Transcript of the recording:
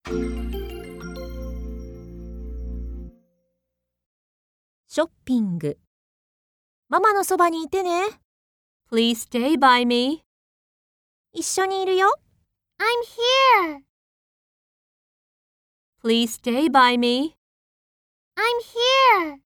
ショッピング。ママのそばにいてね。Please stay by me. 一緒にいるよ。 I'm here. Please stay by me. I'm here.